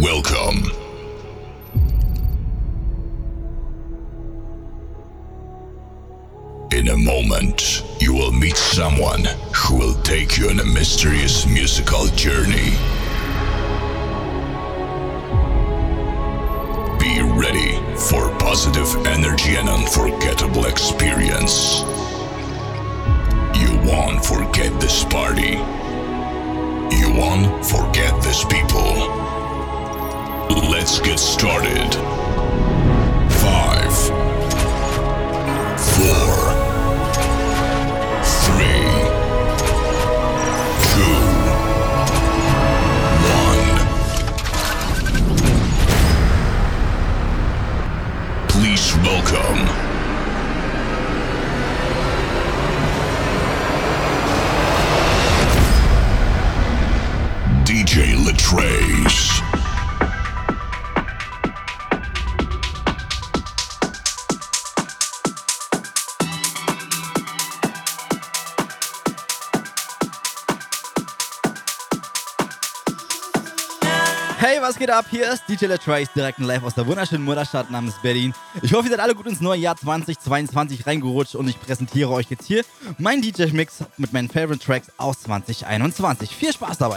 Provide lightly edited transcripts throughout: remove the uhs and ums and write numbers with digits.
Welcome. In a moment, you will meet someone who will take you on a mysterious musical journey. Be ready for positive energy and unforgettable experience. You won't forget this party. You won't forget these people. Let's get started. 5, 4, 3, 2, 1. Please welcome DJ Latrace. Hey, was geht ab? Hier ist DJ Latrace, direkt live aus der wunderschönen Mutterstadt namens Berlin. Ich hoffe, ihr seid alle gut ins neue Jahr 2022 reingerutscht und ich präsentiere euch jetzt hier meinen DJ-Mix mit meinen Favorite Tracks aus 2021. Viel Spaß dabei!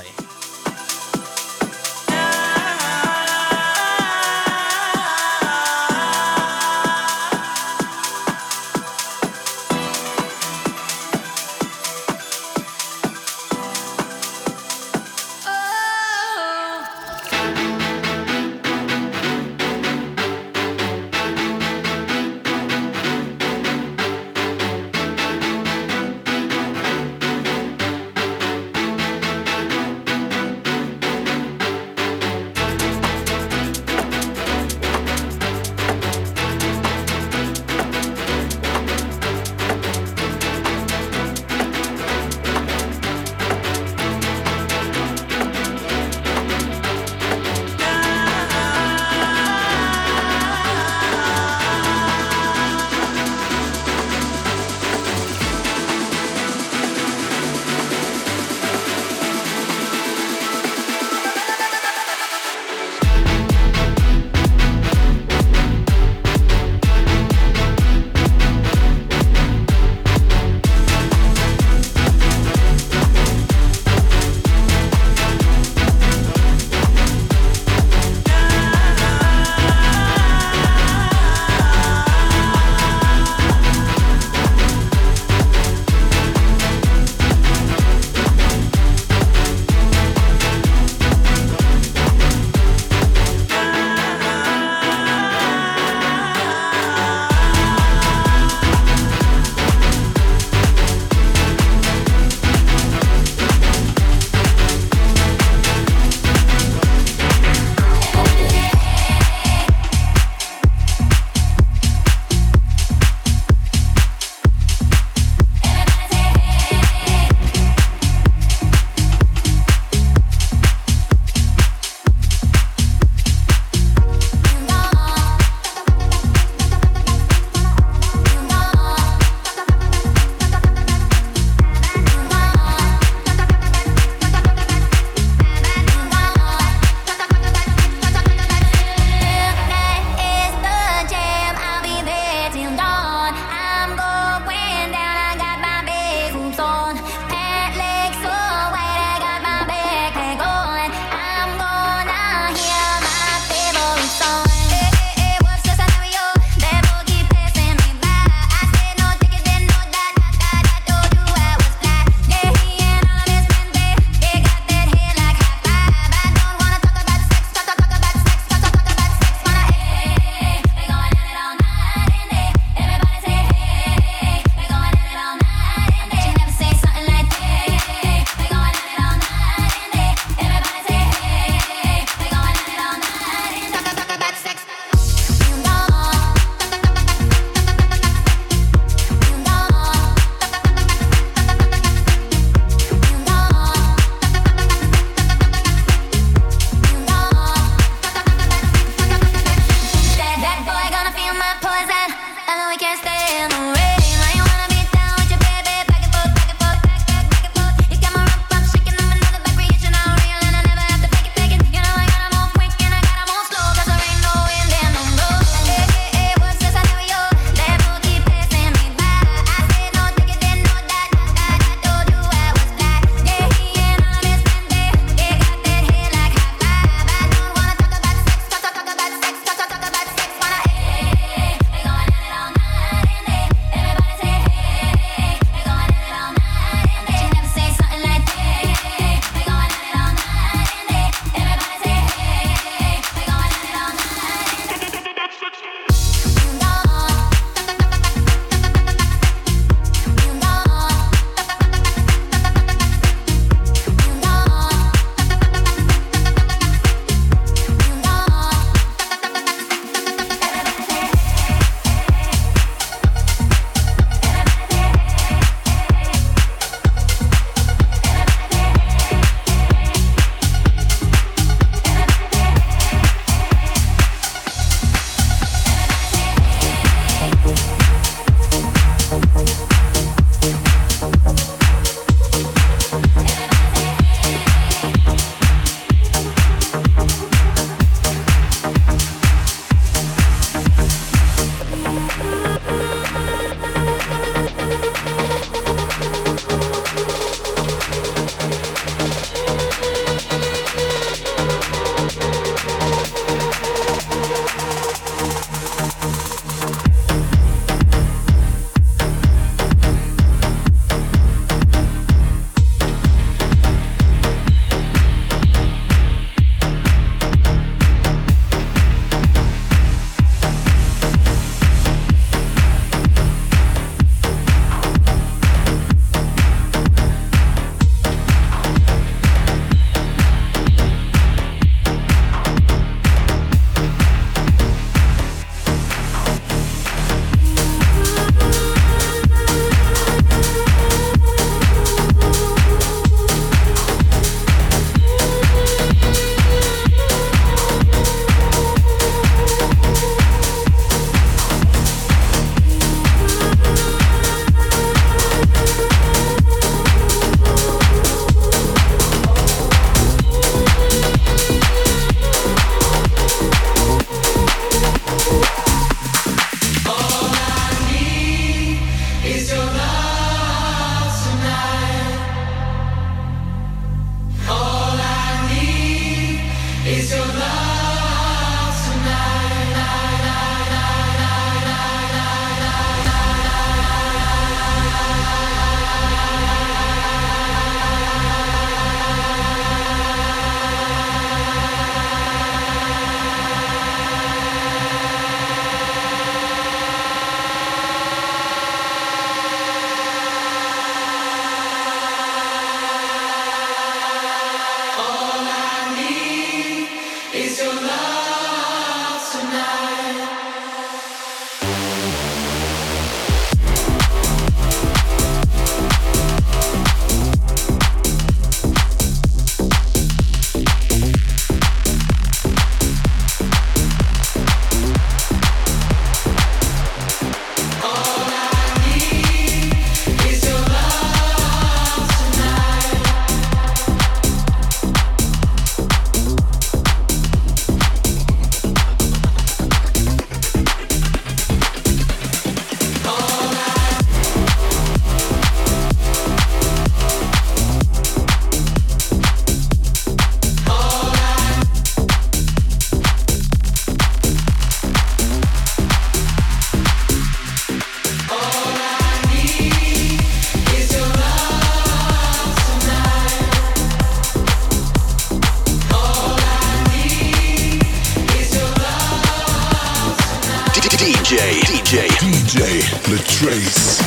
DJ Latrace.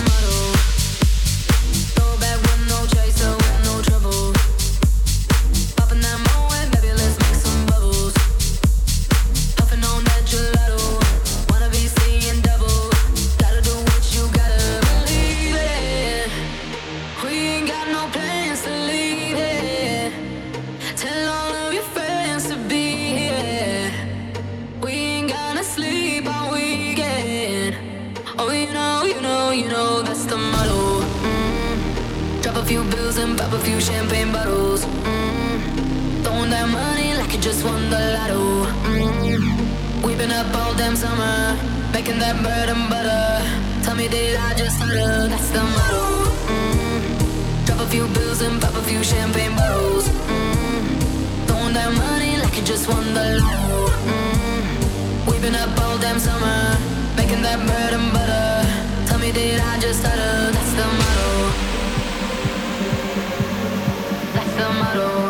Pop a few champagne bottles. Throwing that money like you just won the lotto. We've been up all damn summer, making that bread and butter. Tell me, did I just stutter? That's the motto. Drop a few bills and pop a few champagne bottles. Throwing that money like you just won the lotto. We've been up all damn summer, making that bread and butter. Tell me, did I just stutter? That's the motto. The motto.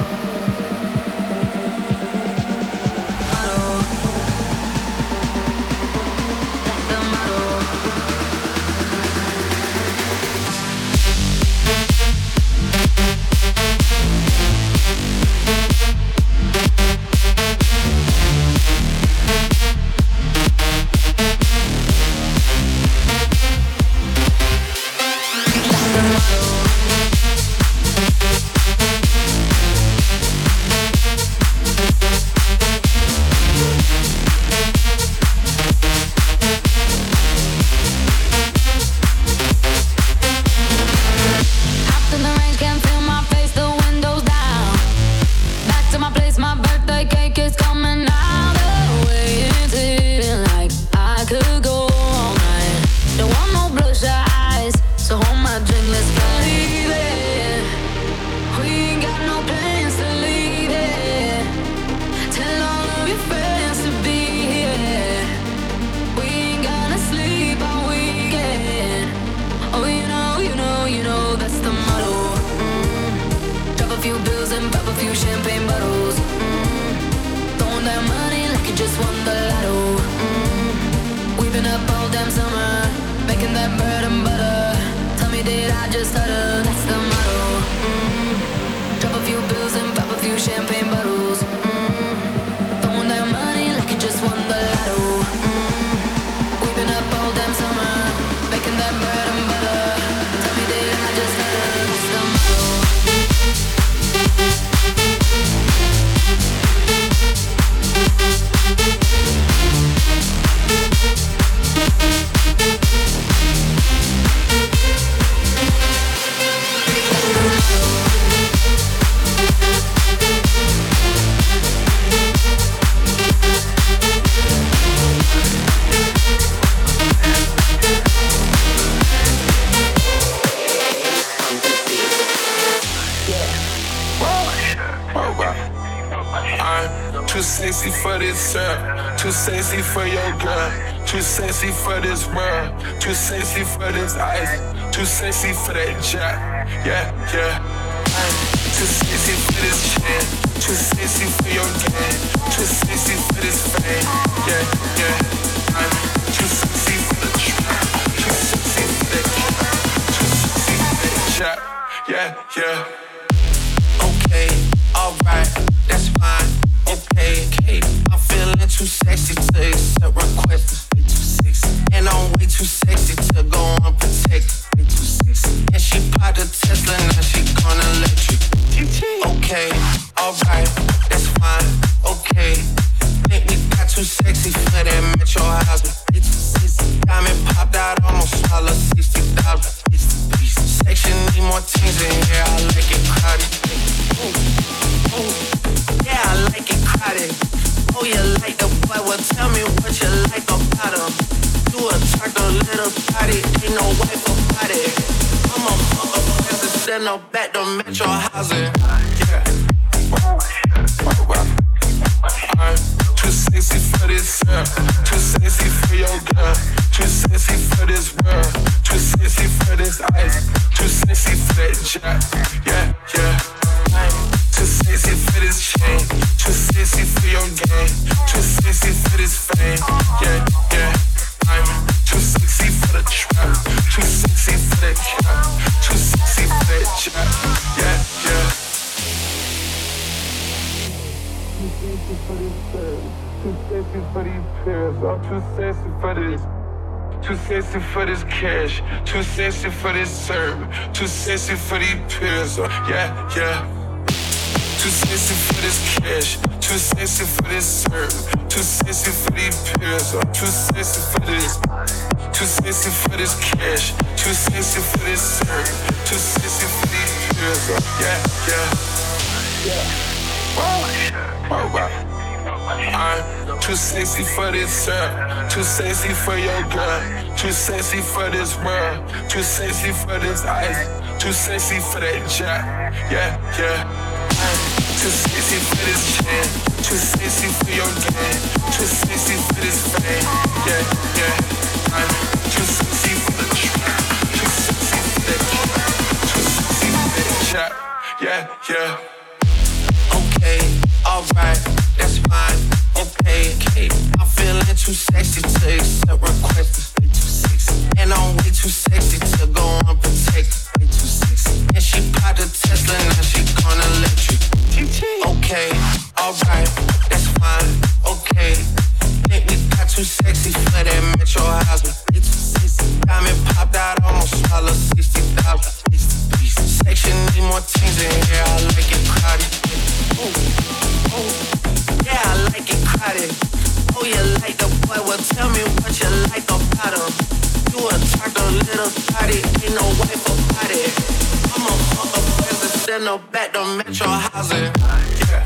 Too sexy for this too sexy for your girl, too sexy for this world, too sexy for this ice, too sexy for that jack, yeah, yeah. Too sexy for this chain, too sexy for your game, too sexy for this fame, yeah, yeah. Too sexy for the trap, too sexy for that cat, too sexy for that jack, yeah, yeah. Okay, alright, that's fine. Okay, I'm feeling too sexy to accept requests. Way too sexy, and I'm way too sexy to go unprotected. Way too sexy, and she popped a Tesla, now she gonna electric. Okay, alright, that's fine. Okay, think we got too sexy for that metro housing. Way too sexy, diamond popped out, almost swallowed 60,000. Section need more things in here, I like it crowded. Yeah, I like it crowded. Oh, you like the boy? Well, tell me what you like about him. You attract a little body, ain't no wife about it. I'm a motherfucker, send no back to metro housing. Yeah. I'm too sexy for this, too sexy for your girl, too sexy for this world, too sexy for this ice, too sexy for that jack. Yeah, yeah. Too sexy for this chain, too sexy for your game, too sexy for this fame. Yeah, yeah. I'm too sexy sexy for these pills. I'm too sexy for this. Too sexy for this cash. Too sexy for this serve. Too sexy for these pills. Yeah, yeah. Too sexy for this cash. Too sexy for this serve. Too sexy for these pills. Too sexy for this. Too sexy for this cash. Too sexy for this serve. Too sexy for these pills. Yeah, yeah. I'm too sexy for this, sir. Too sexy for your girl. Too sexy for this world. Too sexy for this ice. Too sexy for that jack. Yeah, yeah. I'm too sexy for this chain. Too sexy for your game. Too sexy for this fame. Yeah, yeah. I'm too sexy for the trap. Too sexy for that trap. Too sexy for that jack. Yeah, yeah. Okay, alright, that's fine. Okay, I'm feeling too sexy to accept requests. Way too sexy, and I'm way too sexy to go unprotected. Way too sexy, and she popped a Tesla, now she gonna electric. Okay, alright, that's fine. Okay, think we got too sexy for that Metro house. Way too sexy, diamond popped out, almost swallowed 60,000. Section need more things in here, I like it crowded. Yeah, I like it crowded. Oh, you like the boy? Well, tell me what you like about him. You a turtle little thotty, ain't no wife about it. I'm a fuck president, no back to Metro housing. Yeah.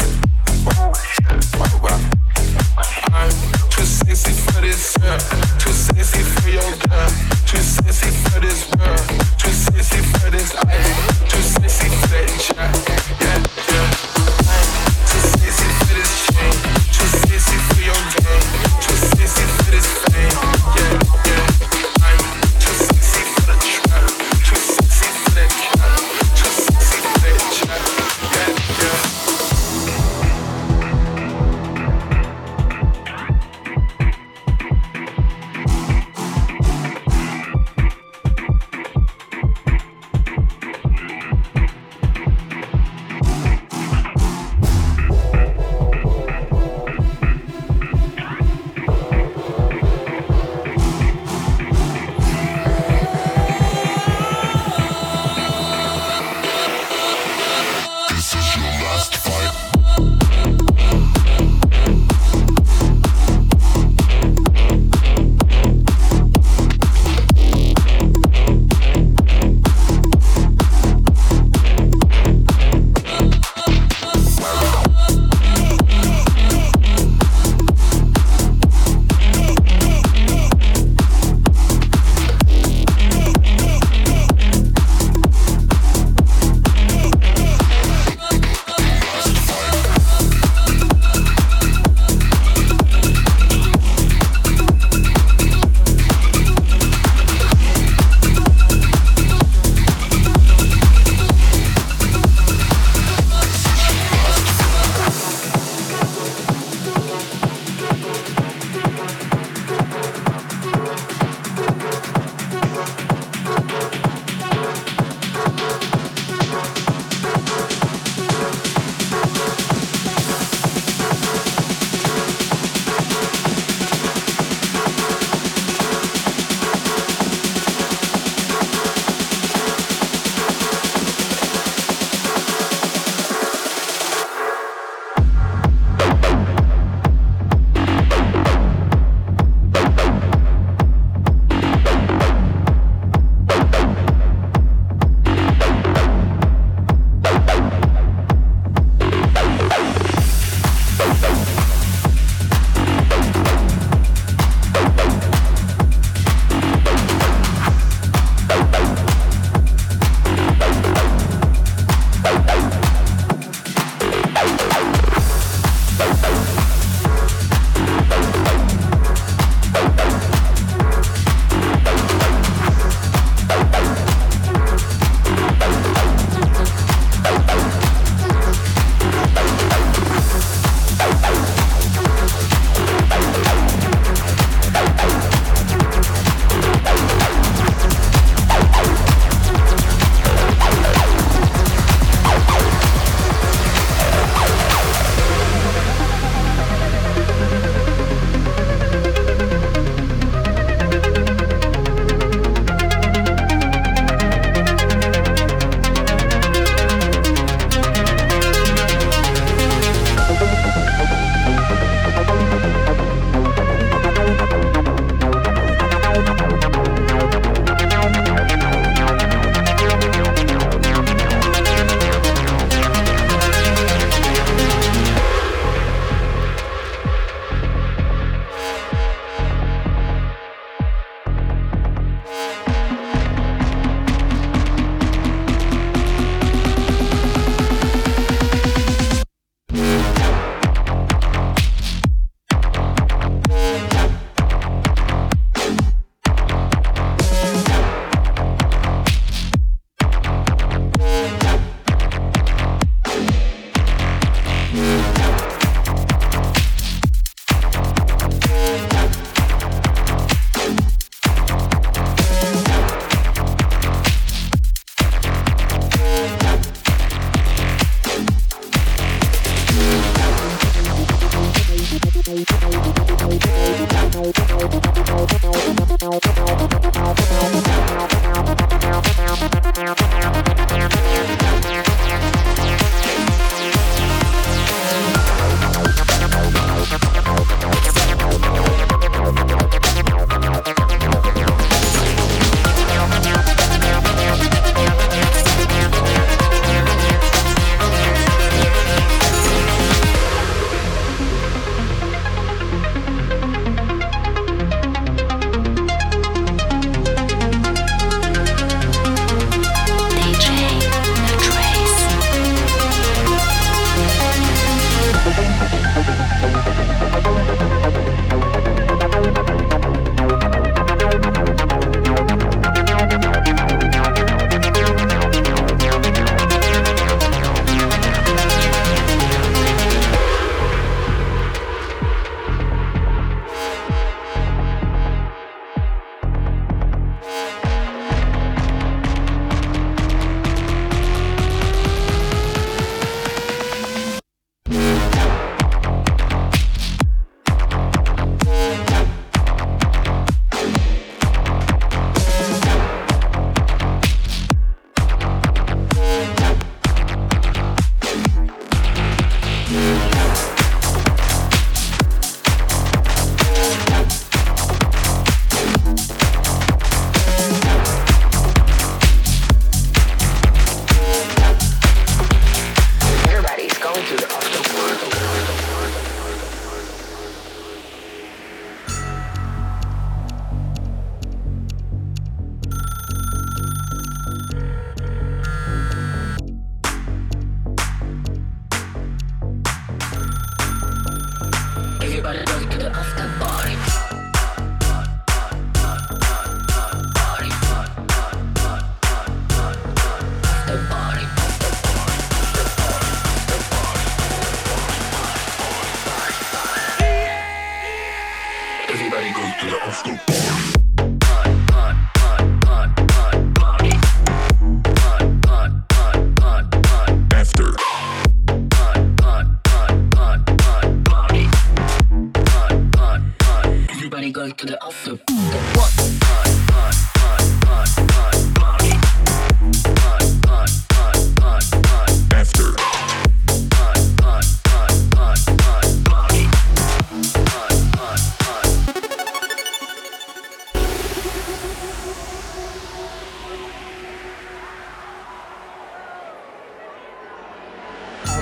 I'm too sexy for this, too sexy for your girl. Too sexy for this world. Too sexy for this ice. Too sexy for that jack. Yeah, yeah. Too sexy for this chain. Too sexy for your game. Too sexy for this fame. Yeah, yeah. I'm too sexy for the trap. Too sexy for that cat. Too sexy for that jack. Yeah, yeah.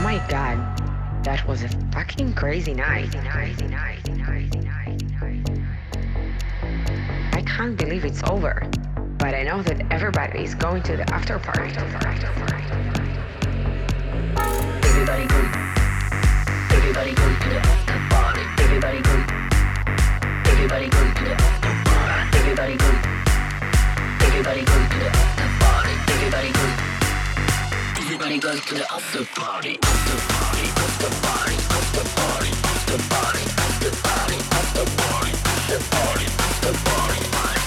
my god, that was a fucking crazy night. I can't believe it's over, but I know that everybody is going to the after party. Everybody go. Everybody go to the after party. Everybody go. Everybody go to the after party. Everybody go. Everybody go to the after party. Everybody go. Everybody goes to the after party. After party. After party. After party. After party. After party. After party. After party. After party.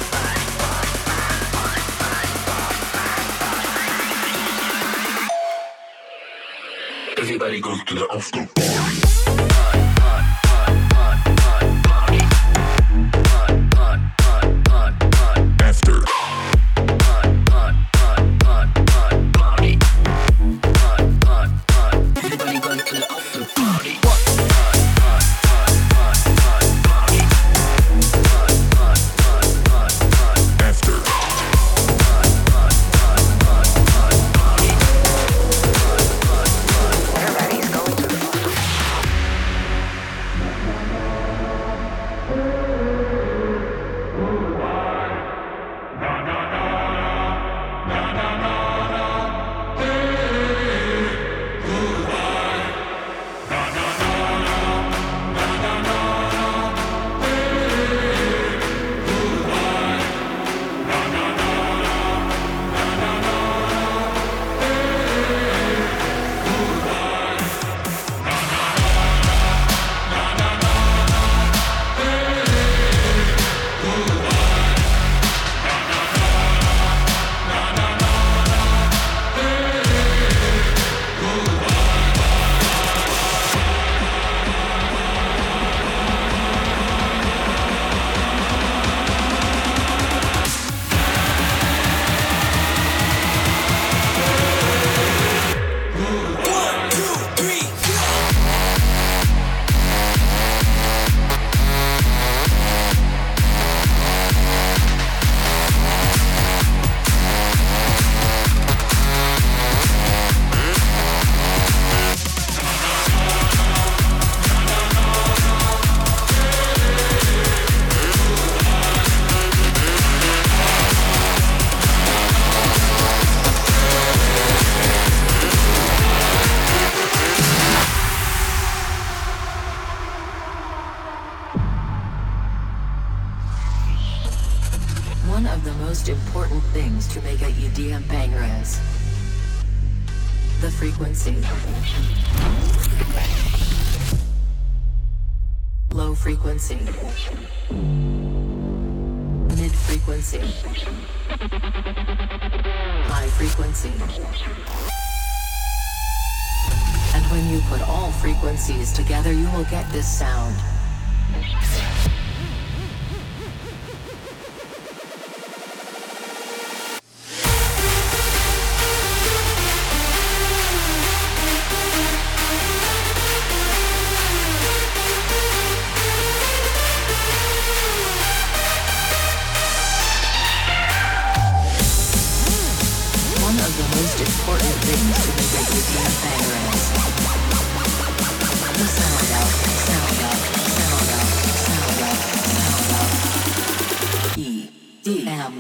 Everybody goes to the after party. After. Everybody goes to the after party. Everybody's going to the One of the most important things to make a EDM banger is the frequency. Low frequency. Mid frequency. High frequency. And when you put all frequencies together, you will get this sound. One of the most important things to make a EDM banger is the sound out, sound out, sound out, sound out, sound out. EDM.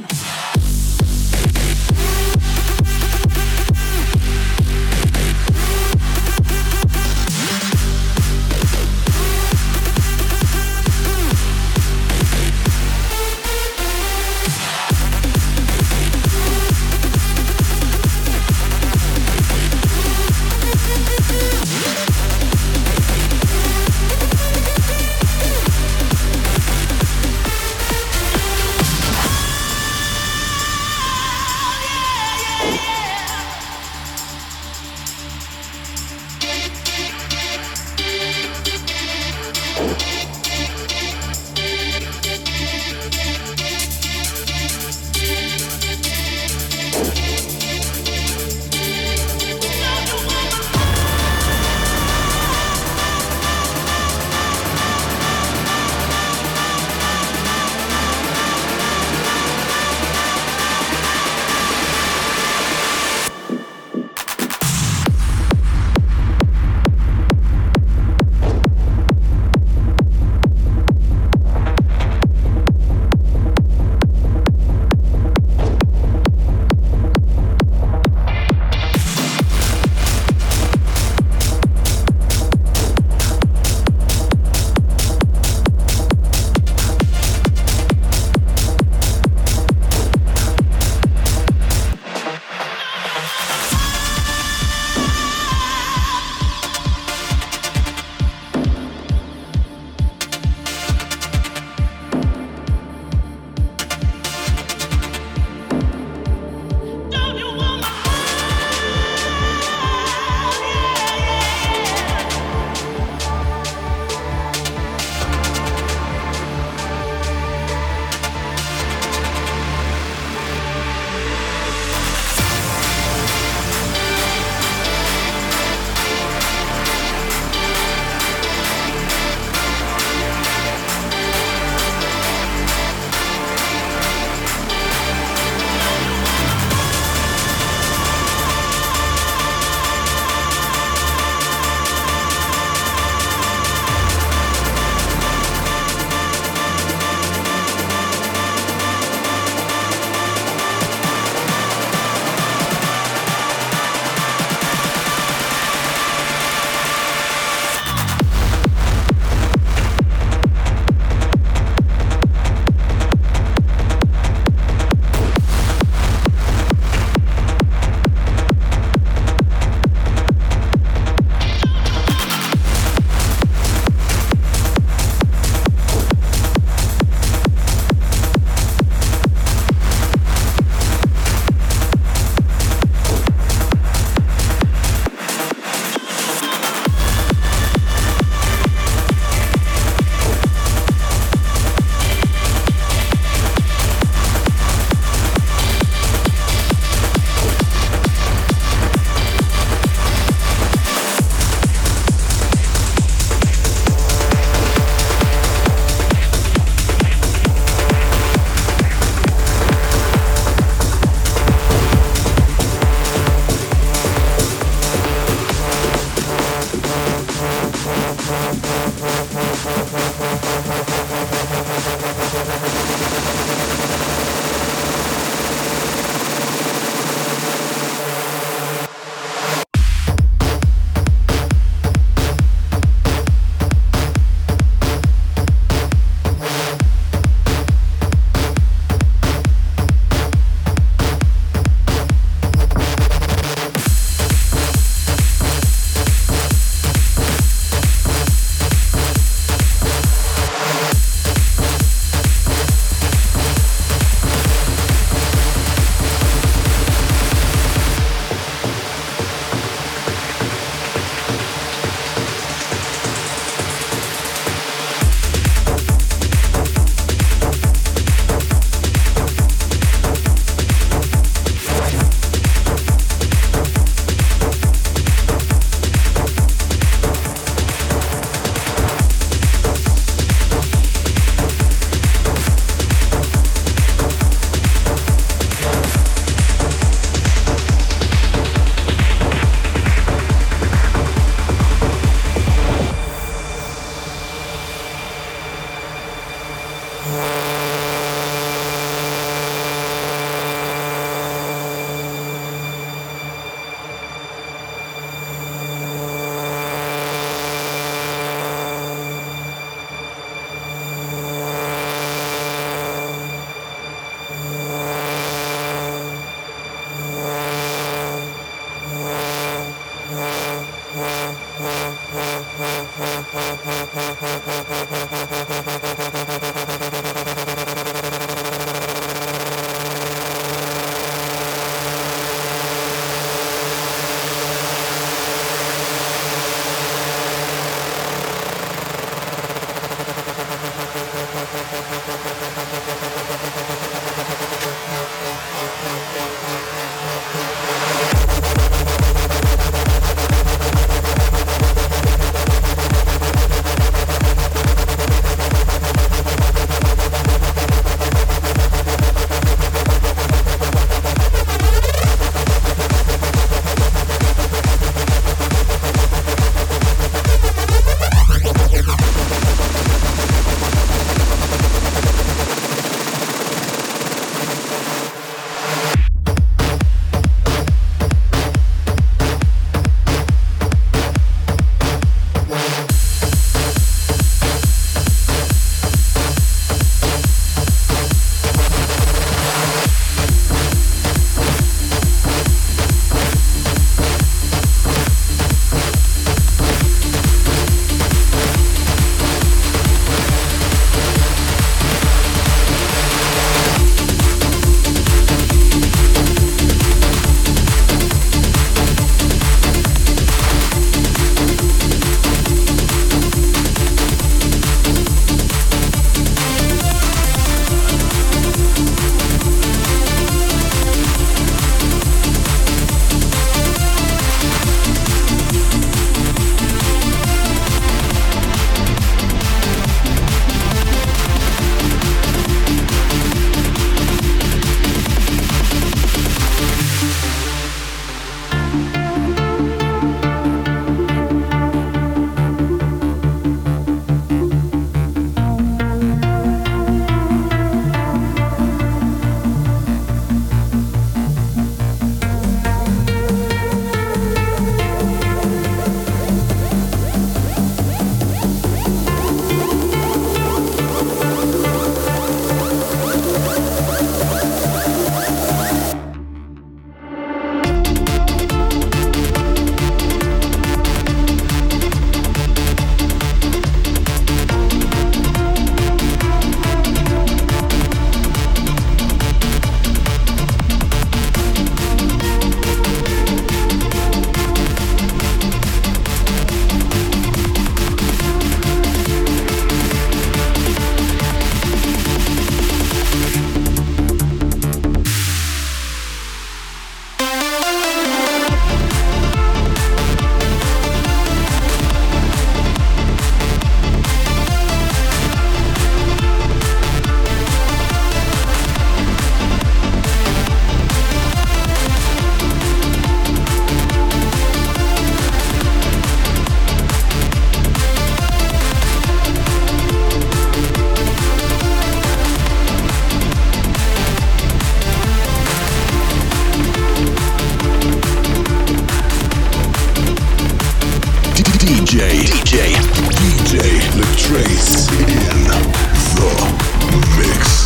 DJ Latrace in the mix.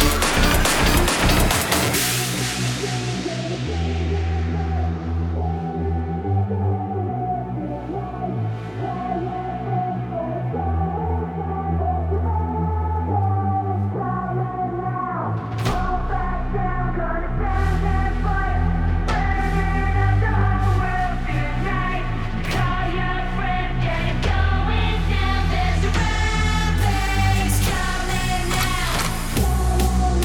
Coming now.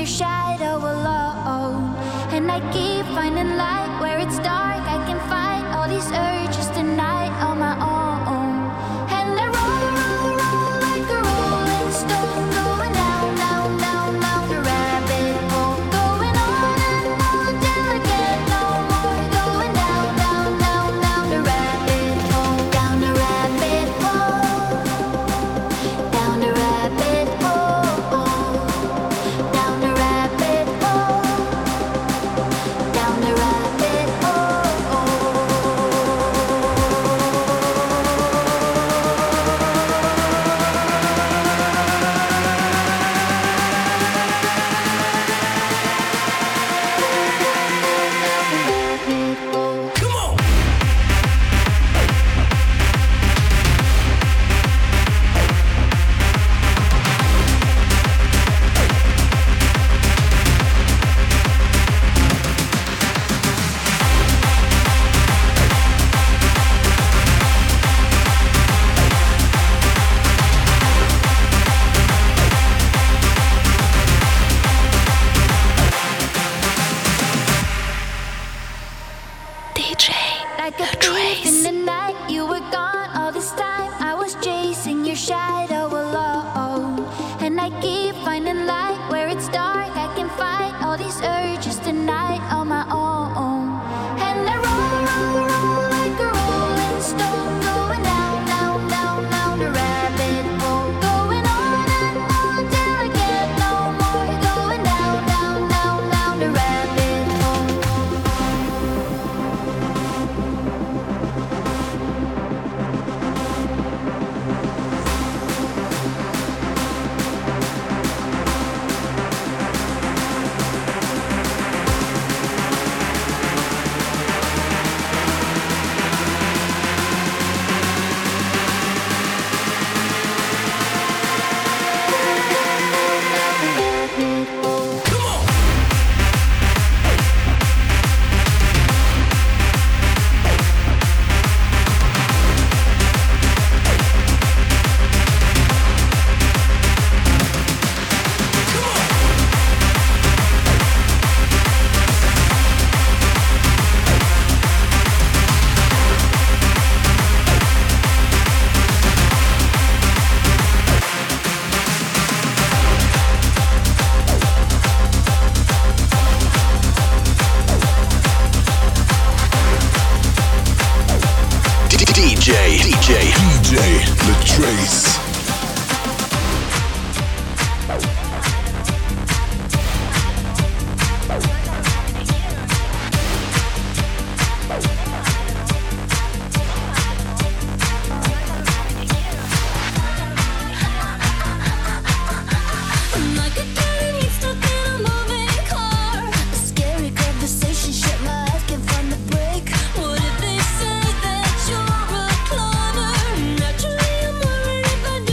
shadow alone. And I keep finding light where it's dark. I can fight all these urges tonight on my own. And I roll like a rolling stone, going down, down, down, down the rabbit hole. Going on and on till I get no more. Going down, down, down, down the rabbit hole. Down the rabbit hole. Down the rabbit hole. Down the rabbit hole. Down the rabbit hole. Like a thief in the night, you were gone all this time. I was chasing your shadow alone. And I keep finding light where it's dark. I can fight all these urges tonight on my own. And I roll like a rolling stone, going down, down, down, down the rabbit hole. Going on and on till I get no more. Going down, down, down, down the rabbit hole. DJ Latrace. Like a cat stuck in a moving car. A scary conversation, shit, my eyes can't find the break. What if they say that you're a cloner? Naturally, I'm worried if I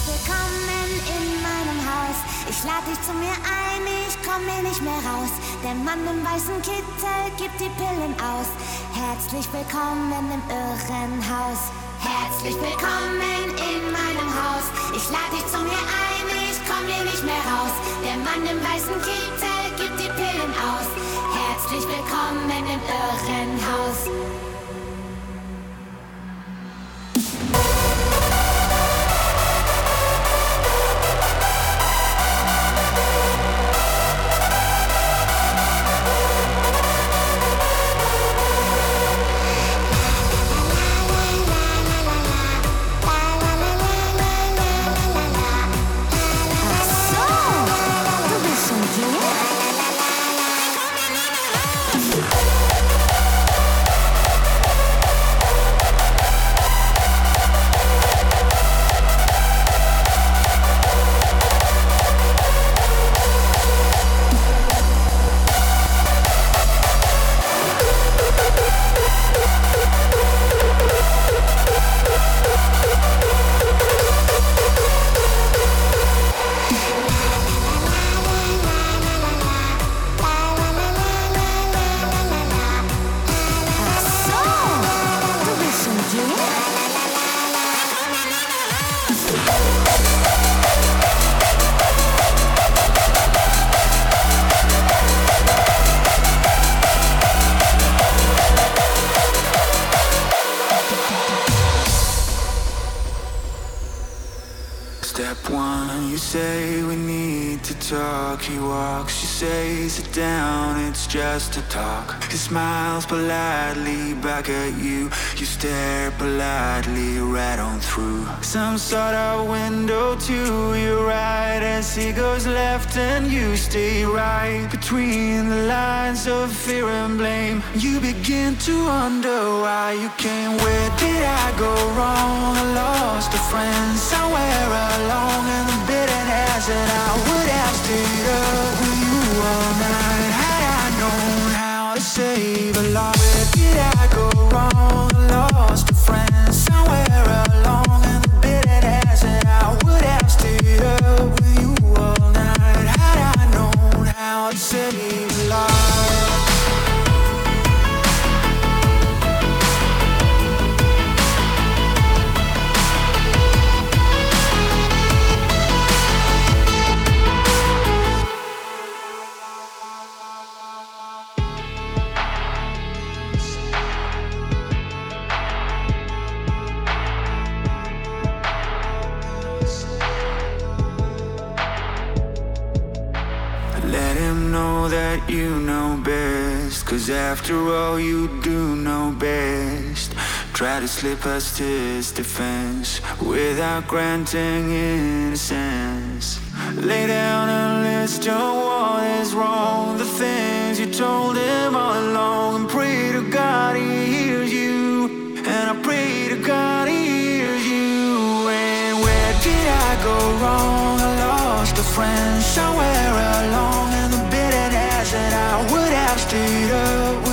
willkommen in meinem Haus. Ich lade dich zu mir ein, ich komm hier nicht mehr raus. Der Mann im weißen Kittel gibt die Pillen aus. Herzlich willkommen im Irrenhaus. Herzlich willkommen in meinem Haus. Ich lade dich zu mir ein, ich komm hier nicht mehr raus. Der Mann im weißen Kittel gibt die Pillen aus. Herzlich willkommen im Irrenhaus. Step one, you say we need to talk. He walks, you say sit down, it's just a talk. He smiles politely back at you. You stare politely right on through some sort of window to your right as he goes left and you stay right between the lines of fear and blame. You begin to wonder why you came. Where did I go wrong? I lost a friend somewhere along in the bitterness that I would have stayed up with you all night had I known how to save a lot. Where did I go wrong? I lost a friend somewhere along in the bitterness that I would have stayed up with you all night had I known how to save a lot. Let him know that you know best, 'cause after all you do know best. Try to slip past his defense without granting innocence. Lay down and list your what is wrong, the things you told him all along, and pray to God he hears you, and I pray to God he hears you. And where did I go wrong? I lost a friend somewhere along in the bitterness that I would have stayed up